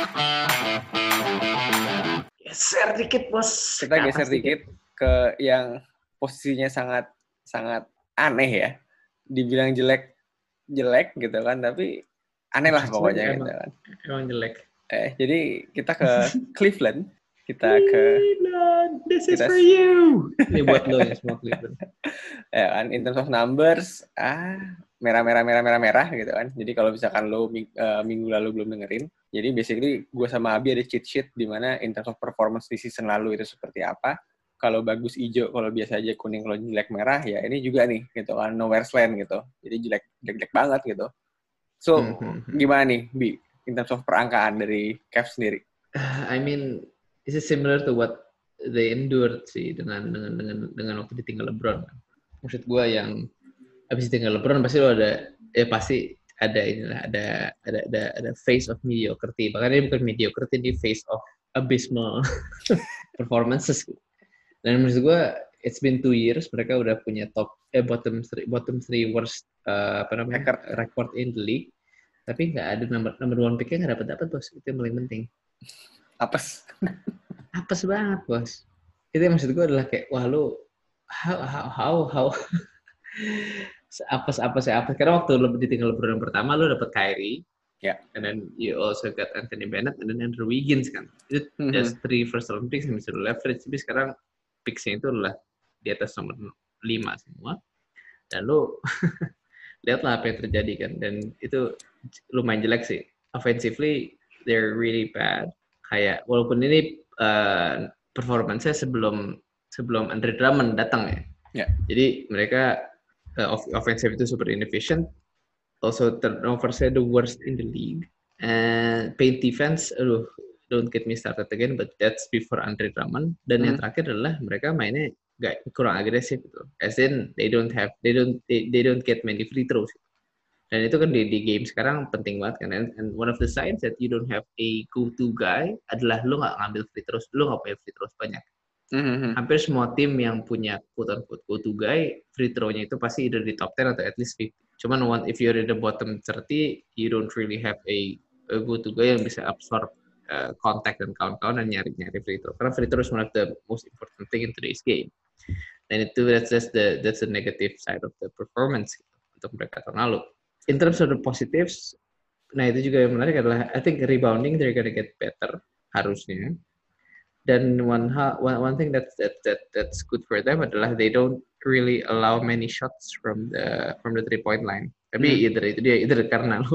Geser dikit bos. Kita geser dikit ke yang posisinya sangat sangat aneh ya. Dibilang jelek gitu kan, tapi aneh lah pokoknya gitu kan. Emang jelek. Jadi kita ke Cleveland. Cleveland, this is for you. Ini buat lo ya semua Cleveland. Ya kan, in terms of numbers, merah gitu kan. Jadi kalau misalkan lo minggu lalu belum dengerin, jadi basically gue sama Abi ada cheat sheet di mana in terms of performance di season lalu itu seperti apa. Kalau bagus hijau, kalau biasa aja kuning, kalau jelek merah, ya ini juga nih gitu kan, nowhere's land gitu. Jadi jelek banget gitu. So, gimana nih, Bi, in terms of perangkaan dari Cavs sendiri? I mean, this is similar to what they endured sih dengan waktu ditinggal LeBron. Maksud gue yang habis ditinggal LeBron pasti lo ada phase of mediocrity. Bahkan ini bukan mediocrity, ini phase of abysmal performances. Dan menurut gue it's been 2 years mereka udah punya bottom three worst record in the league. Tapi nggak ada number one picknya nggak dapat bos. Itu yang paling penting. Apes banget bos. Itu yang maksud gue adalah kayak wah lu how apes karena waktu lu ditinggal LeBron yang pertama lu dapat Kyrie, and then you also got Anthony Bennett and then Andrew Wiggins kan. Itu just 3 first round picks yang bisa lu leverage. Tapi sekarang picksnya itu adalah di atas nomor 5 semua. Dan lu lihatlah apa yang terjadi kan. Dan itu lumayan jelek sih. Offensively they're really bad. Kayak walaupun ini performance-nya sebelum Andre Drummond datang ya. Yeah. Jadi mereka offensive itu super inefficient. Also turnover-nya the worst in the league. And paint defense, don't get me started again, but that's before Andre Drummond. Dan yang terakhir adalah mereka mainnya kurang agresif gitu. As in they don't get many free throws. Dan itu kan di game sekarang penting banget kan. And one of the signs that you don't have a go-to guy adalah lu nggak ngambil free throws, lu nggak punya free throws banyak. Hampir semua tim yang punya quote-unquote go-to guy, free throw-nya itu pasti either di top 10 atau at least 50. Cuman if you're in the bottom 30, you don't really have a go-to guy yang bisa absorb contact dan kawan-kawan dan nyari free throw. Karena free throw is one of the most important thing in today's game. Dan itu that's the negative side of the performance untuk mereka tahun lalu. In terms of the positives, nah itu juga yang menarik adalah I think rebounding they're gonna get better harusnya. Dan one thing that's good for them adalah they don't really allow many shots from the 3-point line. Tapi either karena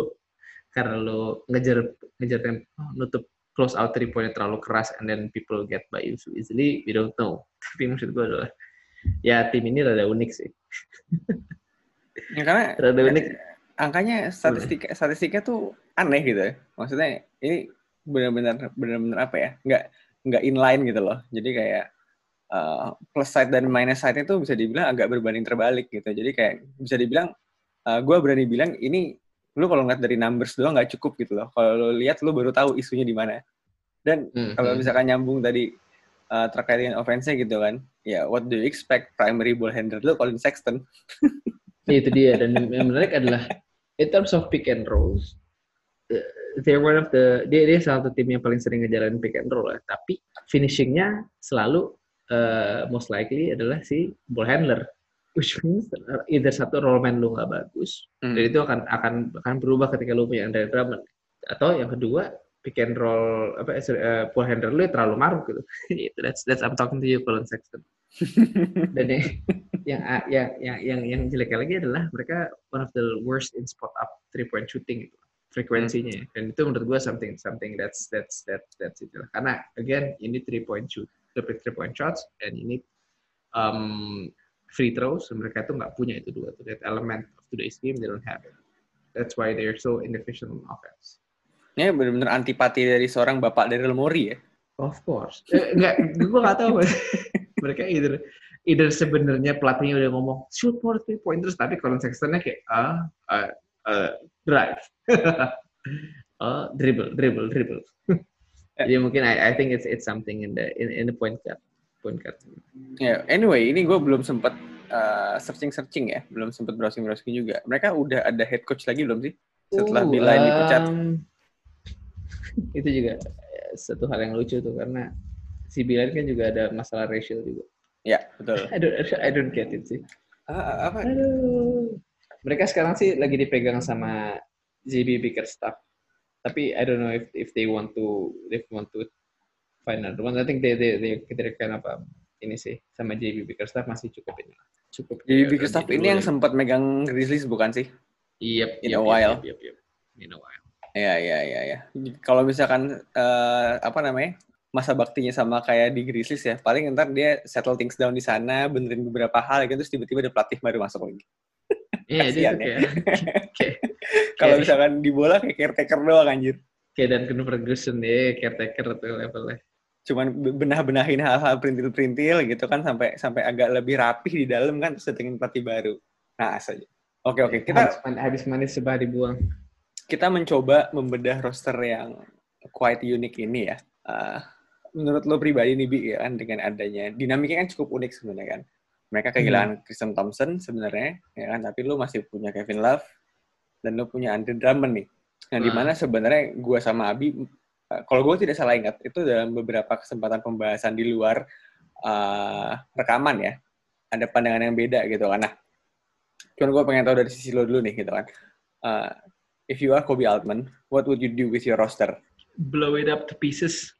lo ngejar nutup close out 3-point terlalu keras and then people get by you so easily, we don't know. Tapi maksud gue adalah ya tim ini rada unik sih. Ya, karena rada unik. Angkanya statistiknya tuh aneh gitu ya. Maksudnya ini benar-benar apa ya? Nggak inline gitu loh. Jadi kayak plus side dan minus side-nya tuh bisa dibilang agak berbanding terbalik gitu. Jadi kayak bisa dibilang gue berani bilang ini lu kalau ngeliat dari numbers doang nggak cukup gitu loh. Kalau lu lihat lu baru tahu isunya di mana. Dan kalau misalkan nyambung tadi terkait dengan offense-nya gitu kan. Ya what do you expect primary ball handler lu Colin Sexton. Itu dia. Dan yang menarik adalah in terms of pick and rolls, they're one of dia salah satu tim yang paling sering ngejalanin pick and roll lah. Tapi finishingnya selalu most likely adalah si ball handler, which means either satu rollman lu nggak bagus, dan itu akan berubah ketika lu punya Andre Drummond, atau yang kedua pick and roll ball handler lu terlalu maruk gitu. that's I'm talking to you Colin Sexton. Dan yang jelek lagi adalah mereka one of the worst in spot up 3-point shooting gitu, frekuensinya. Dan itu menurut gue something that's it lah. Karena again ini 3-point shots and ini free throws, mereka tuh nggak punya itu dua tuh, that element of today's game they don't have it. That's why they're so inefficient on offense. Ini benar-benar antipati dari seorang bapak Daryl Morey ya. Of course. Gue nggak tahu. Mereka either sebenarnya pelatihnya udah ngomong shoot more 3-pointers, tapi Colin Sextonnya kayak drive, dribble. Jadi mungkin I think it's something in the point guard. Yeah, anyway, ini gue belum sempat searching ya, belum sempat browsing juga. Mereka udah ada head coach lagi belum sih? Setelah Bilal dipecat. Itu juga satu hal yang lucu tuh karena si Bilal kan juga ada masalah racial juga. Ya, betul. I don't get it sih. Apa? Aduh. Mereka sekarang sih lagi dipegang sama JB Bickerstaff. Tapi I don't know if they want to find another one. I think they kind of ini sih sama JB Bickerstaff masih cukup ini. Cukup Jadi Bickerstaff ini yang sempat megang Grizzlies bukan sih? Yep, In a while. In a while. Ya. Kalau misalkan masa baktinya sama kayak di Grizzlies ya, paling ntar dia settle things down di sana, benerin beberapa hal, gitu, terus tiba-tiba ada pelatih baru masuk lagi. Iya, dia tuh kayak kalau misalkan di bola kayak caretaker doang anjir. Kayak Duncan Ferguson deh, caretaker tuh levelnya. Cuman benahin hal-hal perintil-perintil gitu kan sampai agak lebih rapih di dalam kan, terus datengin pelatih baru. Nah, saja. Oke. Kita habis manis sebah dibuang. Kita mencoba membedah roster yang quite unique ini ya. Menurut lo pribadi nih, Bi, ya kan, dengan adanya dinamiknya kan cukup unik sebenarnya kan. Mereka kehilangan Tristan Thompson sebenarnya, ya kan, tapi lo masih punya Kevin Love dan lo punya Andre Drummond nih. Nah, di mana sebenarnya gue sama Abi, kalau gue tidak salah ingat, itu dalam beberapa kesempatan pembahasan di luar rekaman ya, ada pandangan yang beda gitu kan. Nah, cuman gue pengen tahu dari sisi lo dulu nih gitu kan. If you are Koby Altman, what would you do with your roster? Blow it up to pieces.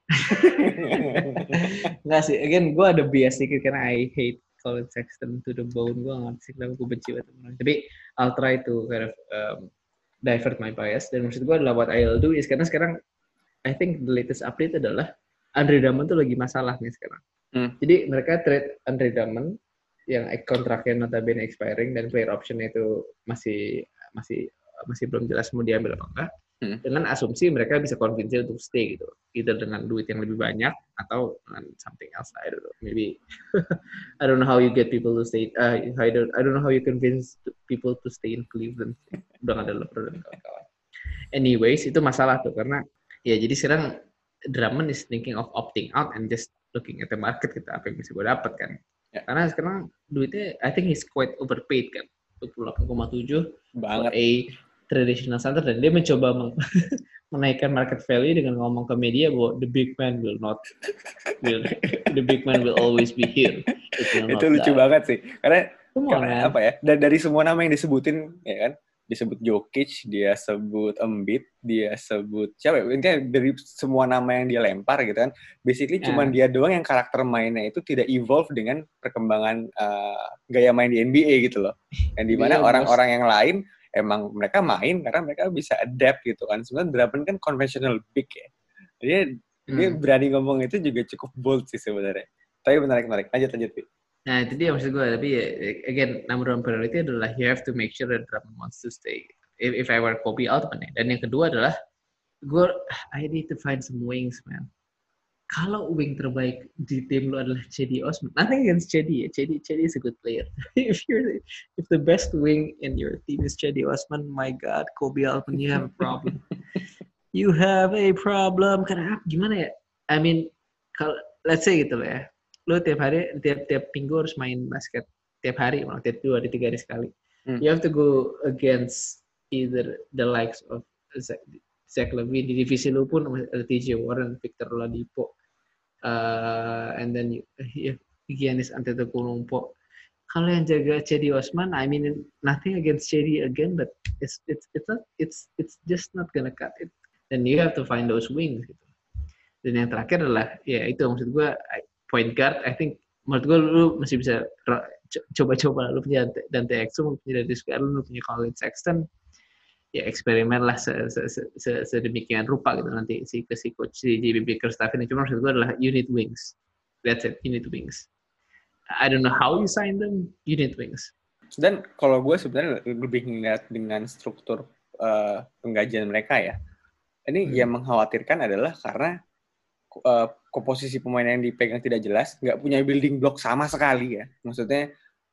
Nggak sih, again gue ada bias sedikit karena I hate Colin Sexton to the bone. Gue nggak sih kenapa gue benci banget. Tapi I'll try to kind of divert my bias. Dan maksud gue adalah what I'll do is karena sekarang I think the latest update adalah Andre Drummond tuh lagi masalah nih sekarang. Jadi mereka trade Andre Drummond yang kontraknya notabene expiring dan player option itu masih belum jelas mau diambil apa enggak. Dengan asumsi mereka bisa convince untuk stay gitu, either dengan duit yang lebih banyak atau dengan something else. I don't know, maybe I don't know how you get people to stay. I don't know how you convince people to stay in Cleveland. Udah nggak ada LeBron dan kawan-kawan. Anyways, itu masalah tuh karena ya jadi sekarang Drummond is thinking of opting out and just looking at the market gitu, apa yang bisa gue dapat kan. Yeah. Karena sekarang duitnya I think he's quite overpaid kan, 28,7 banget. A traditional center, dan dia mencoba menaikkan market value dengan ngomong ke media bahwa the big man will always be here. Itu lucu banget sih, karena apa ya, dari semua nama yang disebutin ya kan, disebut Jokic, dia sebut Embiid, dia sebut siapa ya, intinya dari semua nama yang dia lempar gitu kan, basically cuman dia doang yang karakter mainnya itu tidak evolve dengan perkembangan gaya main di NBA gitu loh. Dan dimana orang-orang yang lain emang mereka main karena mereka bisa adapt gitu kan. Sebenarnya Drummond kan conventional big ya. Dia berani ngomong itu juga cukup bold sih sebenarnya. Tapi menarik. Lanjut. Nah, itu dia maksud gue. Tapi again, number one priority adalah you have to make sure that Drummond wants to stay. If I were Koby Altman ya. Dan yang kedua adalah I need to find some wings, man. Kalau wing terbaik di tim lu adalah Cedi Osman, nothing against Cedi ya. Cedi is a good player. if the best wing in your team is Cedi Osman, my God, Koby Altman, you have a problem. You have a problem. Karena gimana ya? I mean, kalau let's say gitu ya, lu tiap minggu harus main basket tiap hari, tiap 2 hari 3 hari sekali. You have to go against either the likes of Zach LaVine di divisi lu pun ada TJ Warren, Victor Oladipo, and then Giannis Antetokounmpo. Kalau yang jaga Cedi Osman, I mean nothing against Cedi again, but it's just not gonna cut it. Dan you have to find those wings gitu. Dan yang terakhir adalah ya itu maksud gue point guard. I think menurut gue lu masih bisa coba-coba, lu punya Dante Exum, lu punya Darius Garland, lu punya Colin Sexton. Ya eksperimen lah sedemikian rupa gitu nanti si coach si JB Bickerstaff ini. Cuma maksud gue adalah you need wings. That's it, you need wings. I don't know how you sign them, you need wings. Dan kalau gue sebenarnya lebih ngeliat dengan struktur penggajian mereka ya. Ini yang mengkhawatirkan adalah karena komposisi pemain yang dipegang tidak jelas, nggak punya building block sama sekali ya. Maksudnya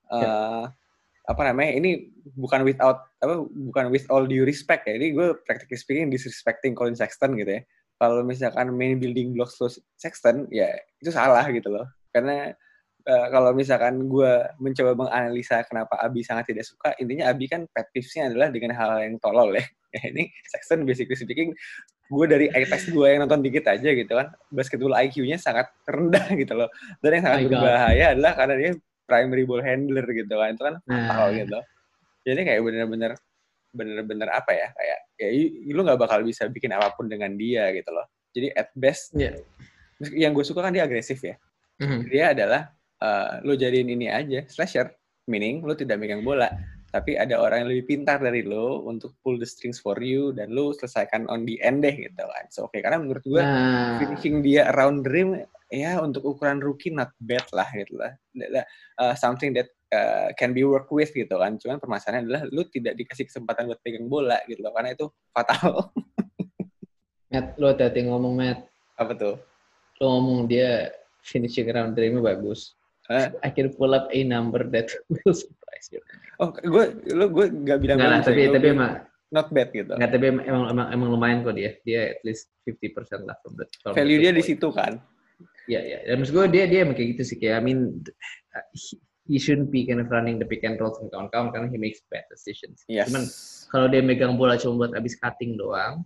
ini bukan with all due respect ya. Ini gue practically speaking disrespecting Colin Sexton gitu ya. Kalau misalkan main building blocks lo Sexton, ya itu salah gitu loh. Karena kalau misalkan gue mencoba menganalisa kenapa Abi sangat tidak suka, intinya Abi kan pet peeves-nya adalah dengan hal yang tolol ya. Ini Sexton basically speaking, gue dari eye test gue yang nonton dikit aja gitu kan, basketball IQ-nya sangat rendah gitu loh. Dan yang sangat My God. berbahaya adalah karena dia primary ball handler gitu kan, itu kan fatal gitu. Jadi kayak bener-bener apa ya, kayak ya lu nggak bakal bisa bikin apapun dengan dia gitu loh. Jadi at best, yang gue suka kan dia agresif ya. Dia adalah lo jadiin ini aja slasher, meaning lo tidak megang bola, tapi ada orang yang lebih pintar dari lo untuk pull the strings for you dan lo selesaikan on the end deh gitu kan. So karena menurut gue finishing dia around the rim ya untuk ukuran rookie not bad lah gitu lah. Something that can be work with gitu kan. Cuman permasalahannya adalah lo tidak dikasih kesempatan buat pegang bola gitu loh, karena itu fatal. Matt, lo hati-hati ngomong, Matt. Apa tuh? Lo ngomong dia finishing around the rim bagus. I can pull up a number that will surprise you. Oh, gue nggak bilang bagus. Tapi emang not bad gitu. Nggak, tapi emang lumayan kok dia. Dia at least 50% lah from the value dia di situ kan. Ya. Dan maksud gue dia emang kayak gitu sih, kayak I mean he shouldn't be kind of running the pick and roll sama kawan-kawan karena he makes bad decisions. Yes. Cuman kalau dia megang bola cuma buat abis cutting doang,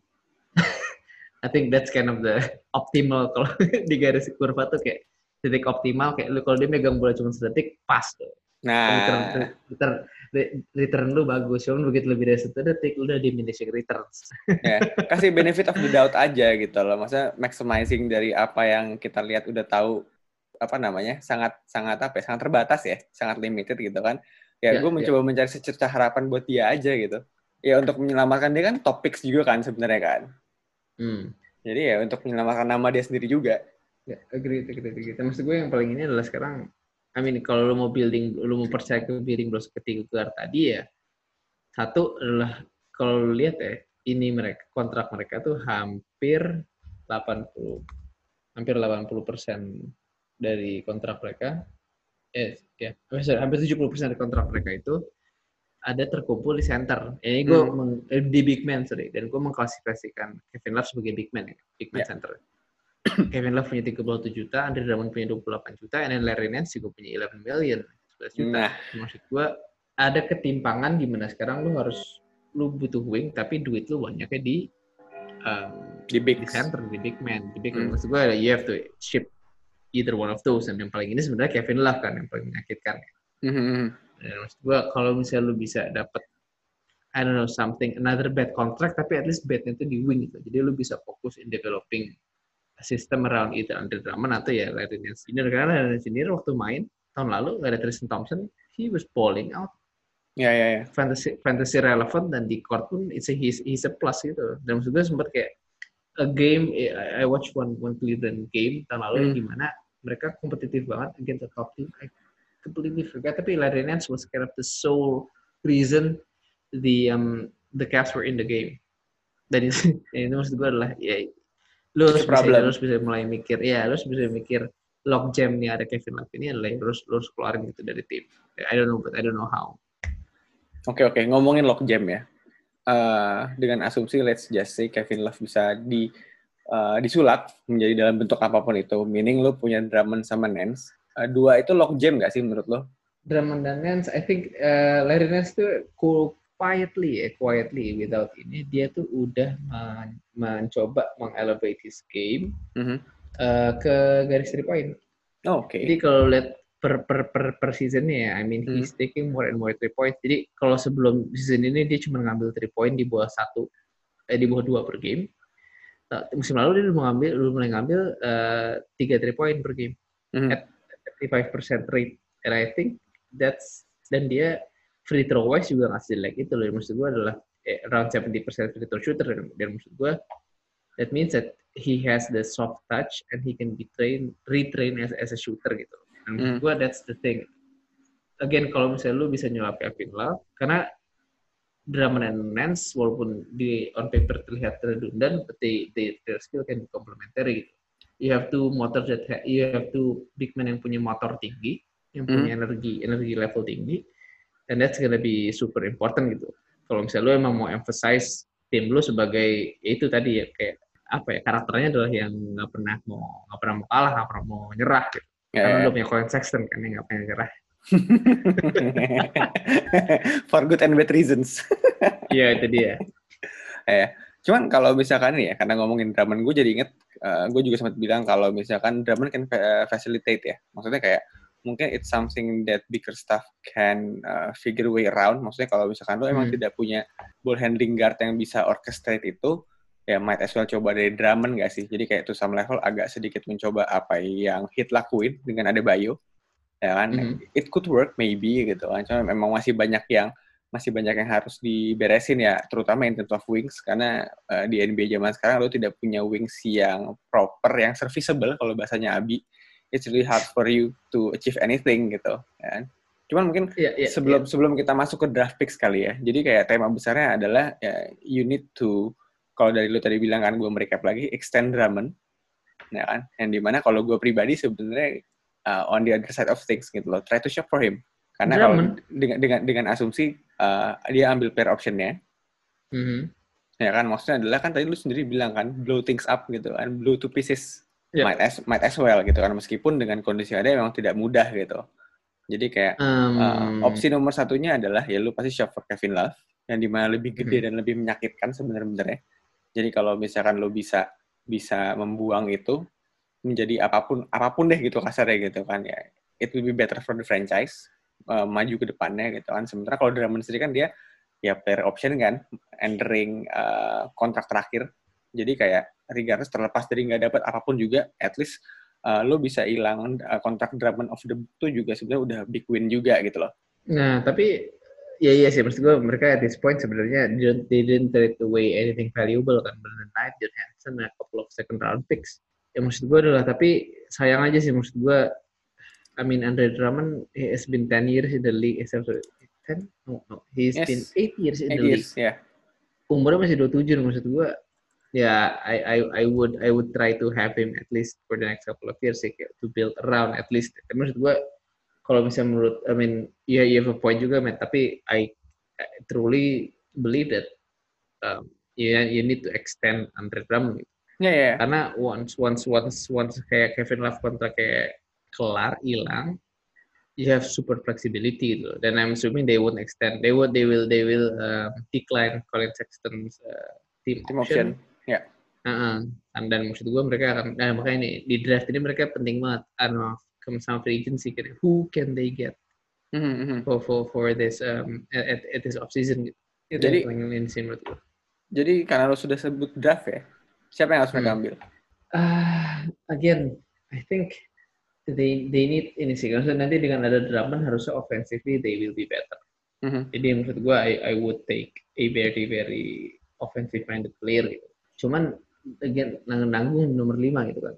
I think that's kind of the optimal. Kalau di garis kurva tuh kayak titik optimal, kayak lu kalau dia megang bola cuma sedetik pas tuh. Nah, return lu bagus, cuman begitu lebih dari 1 detik lu udah diminishing returns. Ya, kasih benefit of the doubt aja gitu loh. Maksudnya maximizing dari apa yang kita lihat udah tahu apa namanya, sangat terbatas ya, sangat limited gitu kan. Ya, gue mencoba mencari secercah harapan buat dia aja gitu. Ya untuk menyelamatkan dia kan top picks juga kan sebenarnya kan. Jadi ya untuk menyelamatkan nama dia sendiri juga. Ya, agree. Maksud gue yang paling ini adalah sekarang, I mean kalau lu mau percaya ke building blocks ketiga gelar tadi ya, satu adalah kalau lu lihat ya, ini kontrak mereka tuh hampir 80% dari kontrak mereka, hampir 70% dari kontrak mereka itu ada terkumpul di center. Ini gue di big man, dan gue mengklasifikasikan Kevin Love sebagai big man center. Kevin Love punya 37 juta, Andre Drummond punya 28 juta, dan Larry Nance juga punya 11 million, 11 juta. Maksud gue ada ketimpangan di mana sekarang lu butuh wing, tapi duit lu banyaknya di center, di big man. Maksud gue you have to ship either one of those, dan yang paling ini sebenarnya Kevin Love kan yang paling menyakitkan. Dan maksud gue kalau misalnya lu bisa dapat I don't know another bad contract, tapi at least badnya itu di wing gitu. Jadi lu bisa fokus in developing sistem around either Andre Drummond atau ya Larry Nance Jr. Karena Larry Nance Jr. waktu main tahun lalu nggak ada Tristan Thompson, he was balling out. Ya. Fantasy relevant, dan di court pun he's a plus gitu. Dan maksud gue sempat kayak a game, I watch one Cleveland game tahun lalu di mana mereka kompetitif banget against the top team. I completely forgot, tapi Larry Nance was kind of the sole reason the Cavs were in the game. Dan itu maksud gue adalah ya lu harus bisa mulai mikir, lu harus bisa mikir lock jam nih ada Kevin Love ini adalah harus keluarin gitu dari tim. I don't know how. Oke, ngomongin lock jam ya. Dengan asumsi let's just say Kevin Love bisa disulap menjadi dalam bentuk apapun itu, meaning lu punya Drummond sama Nance. Dua itu lock jam nggak sih menurut lo? Drummond dan Nance, I think Larry Nance tuh quietly without ini dia tuh udah mencoba mengelevate his game ke garis 3 point. Oke. Jadi kalau lihat per seasonnya, I mean he's taking more and more 3 point. Jadi kalau sebelum season ini dia cuma ngambil 3 point di bawah 2 per game. Musim lalu dia udah mulai ngambil 3 3 point per game at 35% rate, and I think dan dia free throw wise juga nggak jelek itu loh. Maksud gue adalah around 70% free throw shooter, dan maksud gue that means that he has the soft touch and he can be retrained as a shooter gitu. Dan maksud gue that's the thing. Again kalau misalnya lu bisa nyelap Kevin Love, karena Drummond and Nance walaupun on paper terlihat redundant, but their skill can be complementary gitu. You have two big men yang punya motor tinggi, yang punya energi level tinggi. And that's gonna be super important gitu. Kalau misalnya lu emang mau emphasize tim lu sebagai itu tadi ya, kayak apa ya, karakternya adalah yang nggak pernah mau kalah, nggak pernah mau nyerah gitu. Karena udah punya Colin Sexton kan yang nggak pengen nyerah. For good and bad reasons. Iya, itu dia. Cuman kalau misalkan ya, karena ngomongin Drummond, gue jadi inget, gue juga sempat bilang kalau misalkan Drummond kan facilitate ya. Maksudnya kayak, mungkin it's something that bigger staff can figure way around. Maksudnya kalau misalkan lo emang tidak punya ball handling guard yang bisa orchestrate itu, ya might as well coba dari Drummond nggak sih? Jadi kayak to some level agak sedikit mencoba apa yang Heat lakuin dengan Adebayo. Ya kan, it could work maybe gitu kan. Cuma memang masih banyak yang harus diberesin ya, terutama in terms of wings, karena di NBA zaman sekarang lo tidak punya wings yang proper, yang serviceable kalau bahasanya Abi. It's really hard for you to achieve anything gitu kan. Cuman mungkin sebelum kita masuk ke draft picks kali ya, jadi kayak tema besarnya adalah you need to, kalau dari lo tadi bilang kan, gue merecap lagi, extend Drummond, ya kan, yang dimana kalau gue pribadi sebenarnya on the other side of things gitu loh, try to shop for him. Karena kalau dengan asumsi dia ambil player option-nya, ya kan, maksudnya adalah kan tadi lu sendiri bilang kan, blow things up gitu kan, blow to pieces, might as well gitu kan, meskipun dengan kondisi ada memang tidak mudah gitu. Jadi kayak opsi nomor satunya adalah ya lu pasti shop for Kevin Love, yang dimana lebih gede dan lebih menyakitkan sebenarnya. Jadi kalau misalkan lu bisa membuang itu menjadi apapun deh gitu kasarnya gitu kan, ya it will be better for the franchise, maju ke depannya gitu kan. Sementara kalau Drummond sendiri kan dia ya player option kan, entering kontrak terakhir, jadi kayak regardless terlepas dari nggak dapat apapun juga, at least lo bisa hilang kontrak Drummond of the book itu juga sebenarnya udah big win juga gitu loh. Nah tapi iya sih, maksud gue mereka at this point sebenarnya they didn't trade away anything valuable kan, Brandon Knight, John Henson, a couple of second round picks. Ya maksud gue adalah, tapi sayang aja sih, maksud gue, I mean Andre Drummond, he has been 10 years in the league, he's been 8 years in the league. Yeah. Umurnya masih 27, maksud gue, ya I would try to have him at least for the next couple of years sih, to build around at least. Maksud gue, kalau misalnya menurut, I mean, yeah, you have a point juga, man. Tapi I truly believe that you need to extend Andre Drummond. Yeah. Karena once kayak Kevin Love kontrak kayak kelar, hilang, you have super flexibility gitu. Dan I'm assuming they won't extend. They will decline Colin Sexton's team option. Yeah. Dan maksud gue mereka akan, makanya nih di draft ini mereka penting banget sama free agency, who can they get for this at this off season gitu. Itu jadi yang paling insane menurut gue. Jadi karena lo sudah sebut draft ya, siapa yang harus mereka ambil? Again, I think they need ini sih, karena nanti dengan ada Drummond harusnya offensively they will be better. Jadi maksud gue, I would take a very very offensive minded player gitu. Cuman again nanggung nomor 5 gitu kan.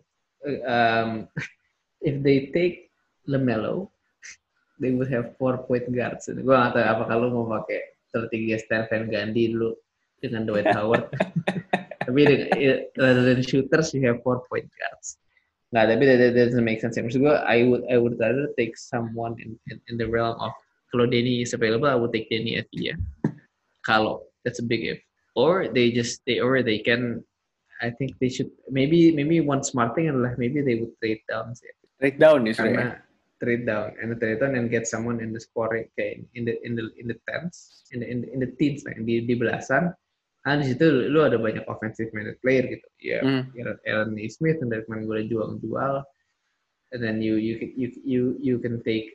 If they take LaMelo, they would have 4 point guards. Gue nggak tahu apakah lu mau pakai strategi Stan Van Gundy dulu dengan Dwight Howard. Tapi rather than shooters, you have 4 point guards. Nggak, tapi that doesn't make sense. Maksud gue, I would rather take someone in the realm of, kalau Danny is available, I would take Danny Avdija. Kalau that's a big if. Or they can, I think they should, maybe one smart thing adalah maybe they would trade down sih. Trade down ya, karena trade down and get someone in the scoring kayak in the tens, in the teens lah, di belasan. Di situ lu ada banyak offensive minded player gitu. Ya, Aaron Smith yang dari kemarin gue udah jual, and then you can take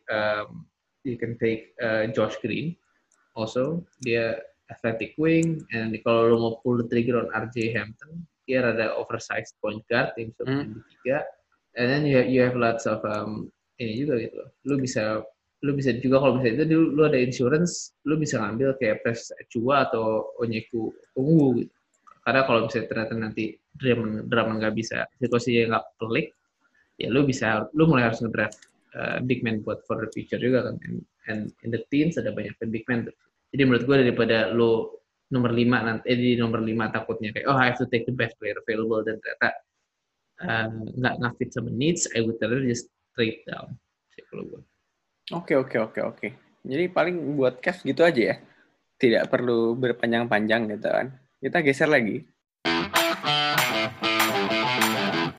Josh Green also, dia athletic wing, and kalau lu mau pull the trigger on RJ Hampton, dia ada oversized point guard yang bisa main di 3, and then you have lots of ini juga gitu. Lu bisa juga, kalau misalnya itu lu ada insurance, lu bisa ngambil kayak Precious Achiuwa atau Onyeka Okongwu gitu. Karena kalau misalnya ternyata nanti Drummond nggak bisa, situasinya nggak pelik, ya lu mulai harus ngedraft big man buat for the future juga kan. And in the teens ada banyak big man tuh. Jadi menurut gue, daripada lu nomor 5 nanti di nomor 5 takutnya kayak I have to take the best player available dan ternyata nggak fit sama needs, I would rather just trade down sih kalau gue. Oke. Jadi paling buat Cavs gitu aja ya. Tidak perlu berpanjang-panjang gitu kan. Kita geser lagi